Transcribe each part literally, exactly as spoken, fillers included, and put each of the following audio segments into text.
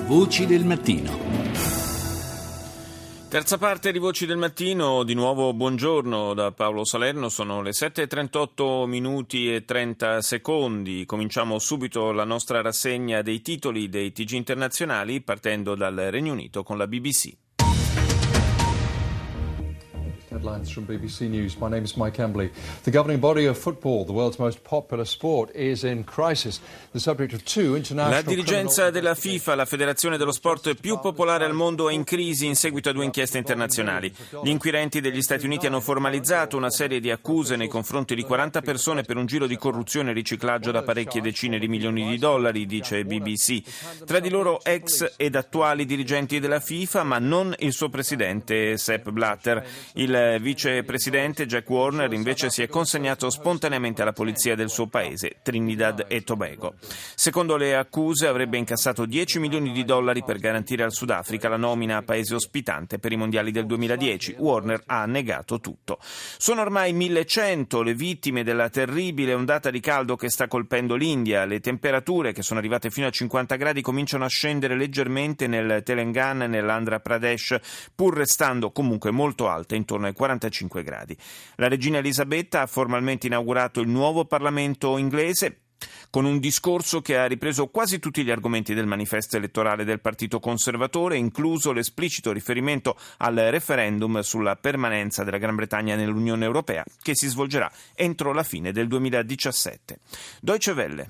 Voci del mattino. Terza parte di Voci del Mattino, di nuovo buongiorno da Paolo Salerno, sono le sette e trentotto minuti e trenta secondi. Cominciamo subito la nostra rassegna dei titoli dei T G internazionali partendo dal Regno Unito con la B B C. Headlines from B B C News. My name is Mike Embley. The governing body of football, the world's most popular sport, is in crisis. The subject of two international. La dirigenza della FIFA, la federazione dello sport più popolare al mondo, è in crisi in seguito a due inchieste internazionali. Gli inquirenti degli Stati Uniti hanno formalizzato una serie di accuse nei confronti di quaranta persone per un giro di corruzione e riciclaggio da parecchie decine di milioni di dollari, dice B B C. Tra di loro ex ed attuali dirigenti della FIFA, ma non il suo presidente Sepp Blatter. Il vicepresidente Jack Warner invece si è consegnato spontaneamente alla polizia del suo paese, Trinidad e Tobago. Secondo le accuse avrebbe incassato dieci milioni di dollari per garantire al Sudafrica la nomina a paese ospitante per i mondiali del duemiladieci. Warner ha negato tutto. Sono ormai millecento le vittime della terribile ondata di caldo che sta colpendo l'India. Le temperature, che sono arrivate fino a cinquanta gradi, cominciano a scendere leggermente nel Telangana e nell'Andhra Pradesh, pur restando comunque molto alte, intorno ai quarantacinque gradi. La regina Elisabetta ha formalmente inaugurato il nuovo Parlamento inglese con un discorso che ha ripreso quasi tutti gli argomenti del manifesto elettorale del Partito Conservatore, incluso l'esplicito riferimento al referendum sulla permanenza della Gran Bretagna nell'Unione Europea, che si svolgerà entro la fine del duemiladiciassette. Deutsche Welle.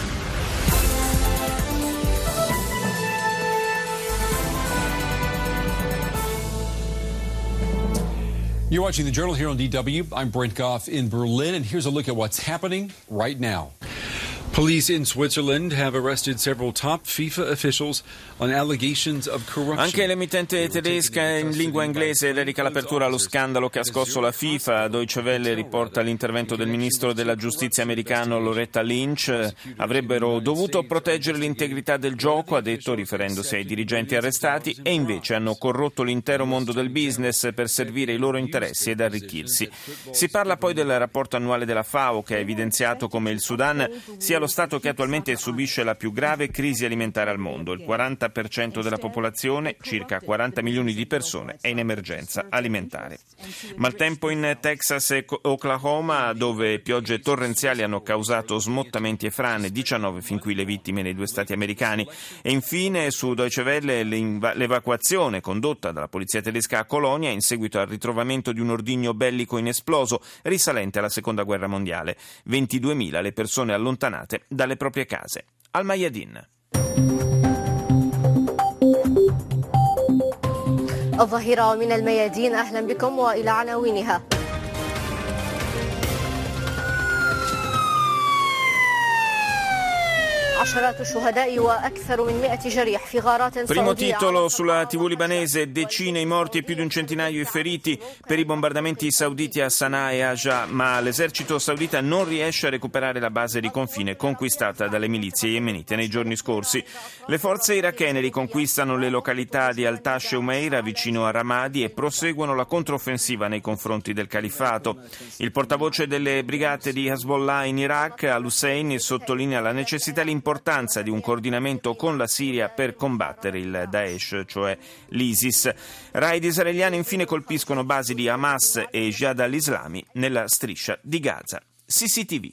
You're watching the Journal here on D W. I'm Brent Goff in Berlin, and here's a look at what's happening right now. Police in Switzerland have arrested several top FIFA officials on allegations of corruption. Anche l'emittente tedesca in lingua inglese dedica l'apertura allo scandalo che ha scosso la FIFA. Deutsche Welle riporta l'intervento del ministro della giustizia americano Loretta Lynch. Avrebbero dovuto proteggere l'integrità del gioco, ha detto, riferendosi ai dirigenti arrestati, e invece hanno corrotto l'intero mondo del business per servire i loro interessi ed arricchirsi. Si parla poi del rapporto annuale della FAO, che ha evidenziato come il Sudan sia lo Stato che attualmente subisce la più grave crisi alimentare al mondo. Il quaranta per cento della popolazione, circa quaranta milioni di persone, è in emergenza alimentare. Maltempo in Texas e Oklahoma, dove piogge torrenziali hanno causato smottamenti e frane, diciannove fin qui le vittime nei due stati americani. E infine su Deutsche Welle l'evacuazione condotta dalla polizia tedesca a Colonia in seguito al ritrovamento di un ordigno bellico inesploso risalente alla seconda guerra mondiale. ventiduemila le persone allontanate dalle proprie case. Al Mayadin. الظهيرة من الميادين أهلا بكم وإلى عناوينها. Primo titolo sulla tivù libanese: decine i morti e più di un centinaio i feriti per i bombardamenti sauditi a Sana'a e Ajah, ma l'esercito saudita non riesce a recuperare la base di confine conquistata dalle milizie yemenite nei giorni scorsi. Le forze irachene riconquistano le località di Al-Tash e Umeira vicino a Ramadi e proseguono la controffensiva nei confronti del califfato. Il portavoce delle brigate di Hezbollah in Iraq, Al-Hussein, sottolinea la necessità e l'importanza di un coordinamento con la Siria per combattere il Daesh, cioè l'ISIS. Raid israeliani infine colpiscono basi di Hamas e Jihad al-Islami nella striscia di Gaza. C C T V.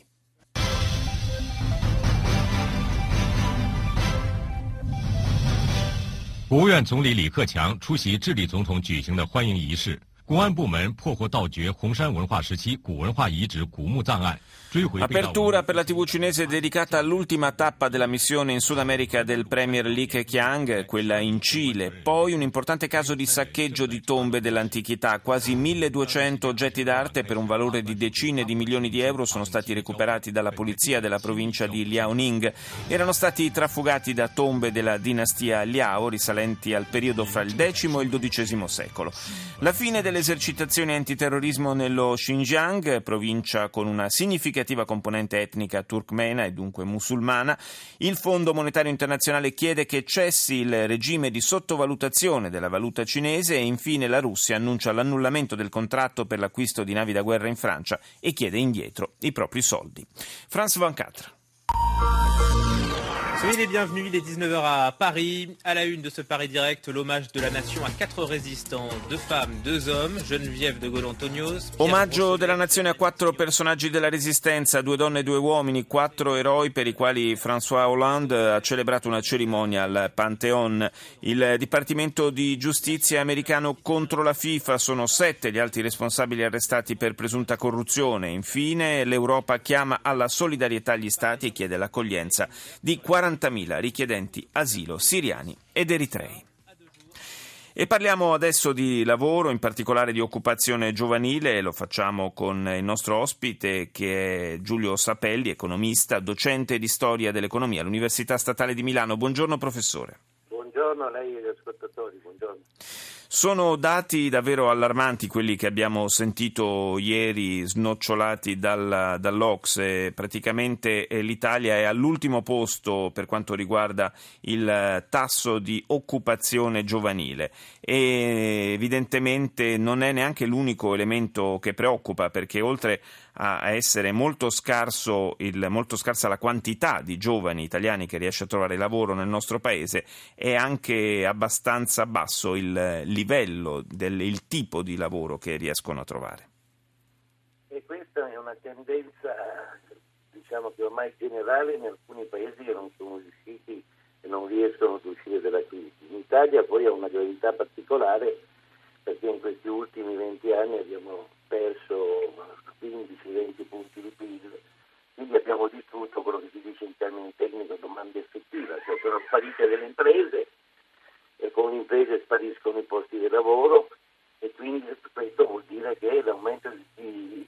国务院总理李克强出席智利总统举行的欢迎仪式。公安部门破获盗掘红山文化时期古文化遗址古墓葬案。 Apertura per la tivù cinese dedicata all'ultima tappa della missione in Sud America del premier Li Keqiang, quella in Cile. Poi un importante caso di saccheggio di tombe dell'antichità. Quasi milleduecento oggetti d'arte per un valore di decine di milioni di euro sono stati recuperati dalla polizia della provincia di Liaoning. Erano stati trafugati da tombe della dinastia Liao risalenti al periodo fra il decimo e il dodicesimo secolo. La fine delle esercitazioni antiterrorismo nello Xinjiang, provincia con una significativa componente etnica turkmena e dunque musulmana. Il Fondo Monetario Internazionale chiede che cessi il regime di sottovalutazione della valuta cinese e infine la Russia annuncia l'annullamento del contratto per l'acquisto di navi da guerra in Francia e chiede indietro i propri soldi. France ventiquattro. Soyez les bienvenus, il est dix-neuf heures à Paris. À la une de ce Paris Direct, l'hommage de la nation a quatre résistants, deux femmes, deux hommes, Geneviève de Gaulle-Antonios. Omaggio della nazione a quattro personaggi della Resistenza, due donne e due uomini, quattro eroi per i quali François Hollande ha celebrato una cerimonia al Pantheon. Il Dipartimento di Giustizia americano contro la FIFA, sono sette gli altri responsabili arrestati per presunta corruzione. Infine, l'Europa chiama alla solidarietà agli Stati e chiede l'accoglienza di quarantamila richiedenti asilo siriani ed eritrei. E parliamo adesso di lavoro, in particolare di occupazione giovanile. Lo facciamo con il nostro ospite, che è Giulio Sapelli, economista, docente di storia dell'economia all'Università Statale di Milano. Buongiorno professore. Buongiorno a lei e agli ascoltatori, buongiorno. Sono dati davvero allarmanti quelli che abbiamo sentito ieri, snocciolati dal, dall'Ocse. Praticamente eh, l'Italia è all'ultimo posto per quanto riguarda il tasso di occupazione giovanile e evidentemente non è neanche l'unico elemento che preoccupa, perché oltre a essere molto scarso il, molto scarsa la quantità di giovani italiani che riesce a trovare lavoro nel nostro paese, è anche abbastanza basso il livello, del, il tipo di lavoro che riescono a trovare. E questa è una tendenza, diciamo che ormai generale in alcuni paesi che non sono riusciti e non riescono ad uscire dalla crisi. In Italia poi ha una gravità particolare, perché in questi ultimi venti anni abbiamo perso quindici venti punti di P I L, quindi abbiamo distrutto quello che si dice in termini tecnici domanda effettiva, cioè sono sparite delle imprese e con le imprese spariscono i posti di lavoro, e quindi questo vuol dire che l'aumento di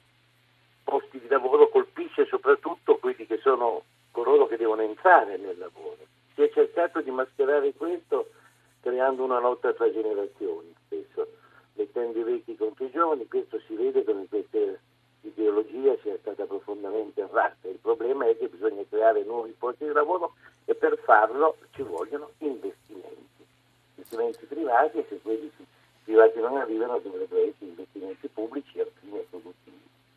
posti di lavoro colpisce soprattutto quelli che sono coloro che devono entrare nel lavoro. Si è cercato di mascherare questo creando una lotta tra generazioni, spesso mettendo i vecchi contro i giovani. Questo si vede come questa ideologia sia stata profondamente errata. Il problema è che bisogna creare nuovi posti di lavoro e per farlo ci vogliono investimenti, investimenti privati, e se quelli privati non arrivano dovrebbero essere investimenti pubblici a fine produttivi.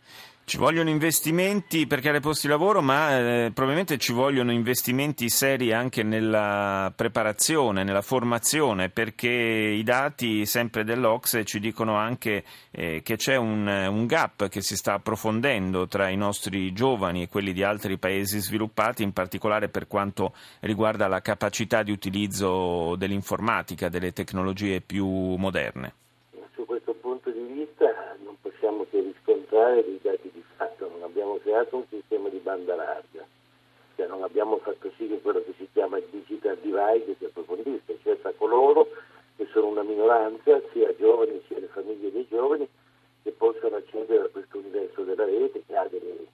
Ci vogliono investimenti per creare posti di lavoro, ma eh, probabilmente ci vogliono investimenti seri anche nella preparazione, nella formazione, perché i dati sempre dell'Ocse ci dicono anche eh, che c'è un, un gap che si sta approfondendo tra i nostri giovani e quelli di altri paesi sviluppati, in particolare per quanto riguarda la capacità di utilizzo dell'informatica, delle tecnologie più moderne. Su questo punto di vista non possiamo che riscontrare dei dati di fatto. Non abbiamo creato un sistema di banda larga, cioè non abbiamo fatto sì che quello che si chiama il digital divide si approfondisse, cioè tra coloro che sono una minoranza, sia giovani sia le famiglie dei giovani, che possono accedere a questo universo della rete che ha delle,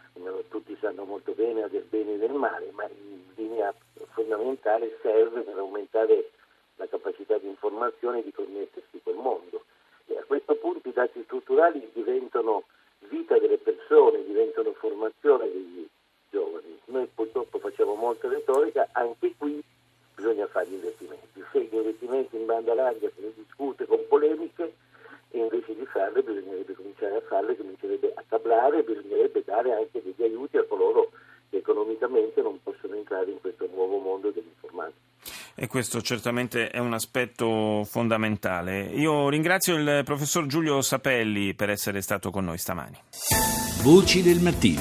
tutti sanno molto bene, ha del bene e del male, ma in linea fondamentale serve per aumentare la capacità di informazione e di connettersi col mondo. E a questo punto i dati strutturali diventano vita delle persone, diventano formazione degli giovani. Noi purtroppo facciamo molta retorica, anche qui bisogna fare gli investimenti. Se gli investimenti in banda larga se ne discute con polemiche, e invece di farle bisognerebbe cominciare a farle, comincerebbe a tablare, bisognerebbe dare anche degli aiuti a coloro che economicamente non possono entrare in questo nuovo mondo dell'informatica. E questo certamente è un aspetto fondamentale. Io ringrazio il professor Giulio Sapelli per essere stato con noi stamani. Voci del mattino.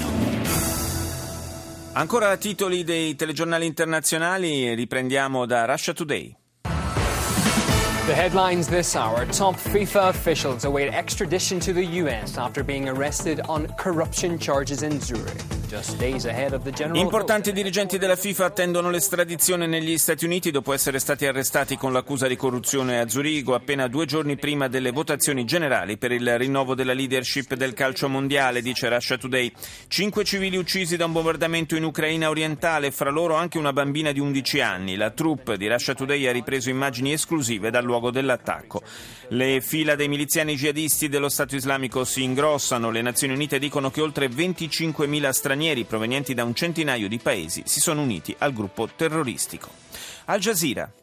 Ancora titoli dei telegiornali internazionali, riprendiamo da Russia Today. The headlines this hour. Top FIFA officials await extradition to the U S after being arrested on corruption charges in Zurich. Just days ahead of the general Importanti vote. dirigenti della FIFA attendono l'estradizione negli Stati Uniti dopo essere stati arrestati con l'accusa di corruzione a Zurigo appena due giorni prima delle votazioni generali per il rinnovo della leadership del calcio mondiale, dice Russia Today. Cinque civili uccisi da un bombardamento in Ucraina orientale, fra loro anche una bambina di undici anni. La troupe di Russia Today ha ripreso immagini esclusive dal luogo dell'attacco. Le fila dei miliziani jihadisti dello Stato islamico si ingrossano. Le Nazioni Unite dicono che oltre venticinquemila stranieri provenienti da un centinaio di paesi si sono uniti al gruppo terroristico. Al Jazeera.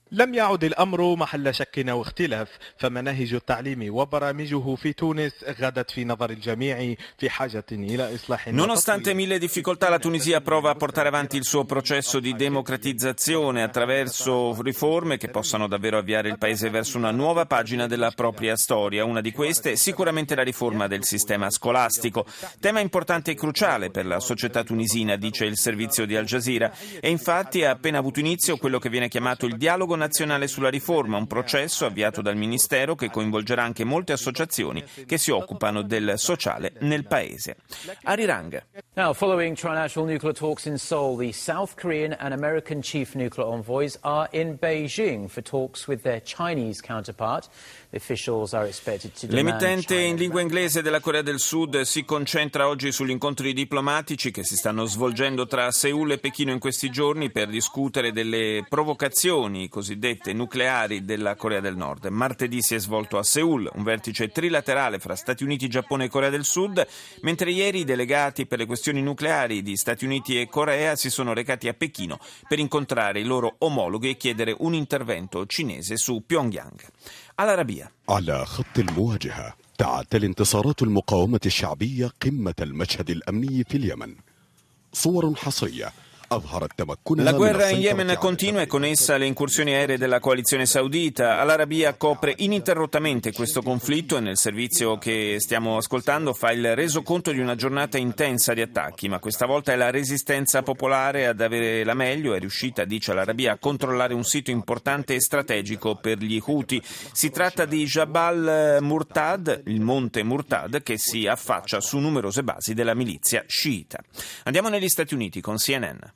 لم يعد الأمر محل شك أو اختلاف فمناهج التعليم وبرامجه في تونس غدت في نظر الجميع في حاجة إلى إصلاح. Nonostante mille difficoltà, la Tunisia prova a portare avanti il suo processo di democratizzazione attraverso riforme che possano davvero avviare il paese verso una nuova pagina della propria storia. Una di queste sicuramente la riforma del sistema scolastico, tema importante e cruciale per la società tunisina, dice il servizio di Al Jazeera, e infatti ha appena avuto inizio quello che viene chiamato il dialogo nazionale sulla riforma, un processo avviato dal Ministero che coinvolgerà anche molte associazioni che si occupano del sociale nel paese. Arirang. Now, following trilateral nuclear talks in Seoul, the South Korean and American chief nuclear envoys are in Beijing for talks with their Chinese counterpart. The officials are expected to demand L'emittente in lingua inglese della Corea del Sud si concentra oggi sugli incontri diplomatici che si stanno svolgendo tra Seul e Pechino in questi giorni per discutere delle provocazioni cosiddette nucleari della Corea del Nord. Martedì si è svolto a Seul un vertice trilaterale fra Stati Uniti, Giappone e Corea del Sud, mentre ieri i delegati per le questioni nucleari di Stati Uniti e Corea si sono recati a Pechino per incontrare i loro omologhi e chiedere un intervento cinese su Pyongyang. All'Arabia. على خط المواجهة تعتلي انتصارات المقاومة الشعبية قمة المشهد الأمني في اليمن. صور حصرية. La guerra in Yemen continua e con essa le incursioni aeree della coalizione saudita. Al-Arabia copre ininterrottamente questo conflitto e nel servizio che stiamo ascoltando fa il resoconto di una giornata intensa di attacchi, ma questa volta è la resistenza popolare ad avere la meglio. È riuscita, dice Al-Arabia, a controllare un sito importante e strategico per gli Houthi. Si tratta di Jabal Murtad, il monte Murtad, che si affaccia su numerose basi della milizia sciita. Andiamo negli Stati Uniti con C N N.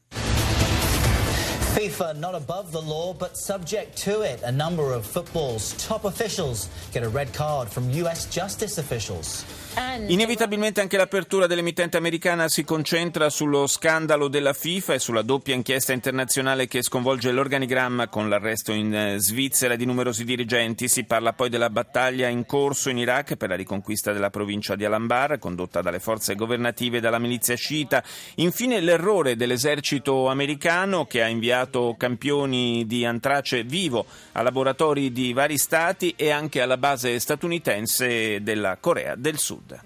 FIFA not above the law but subject to it. A number of football's top officials get a red card from U S justice officials. Inevitabilmente anche l'apertura dell'emittente americana si concentra sullo scandalo della FIFA e sulla doppia inchiesta internazionale che sconvolge l'organigramma con l'arresto in Svizzera di numerosi dirigenti. Si parla poi della battaglia in corso in Iraq per la riconquista della provincia di Al-Anbar, condotta dalle forze governative e dalla milizia sciita. Infine l'errore dell'esercito americano che ha inviato campioni di antrace vivo a laboratori di vari stati e anche alla base statunitense della Corea del Sud.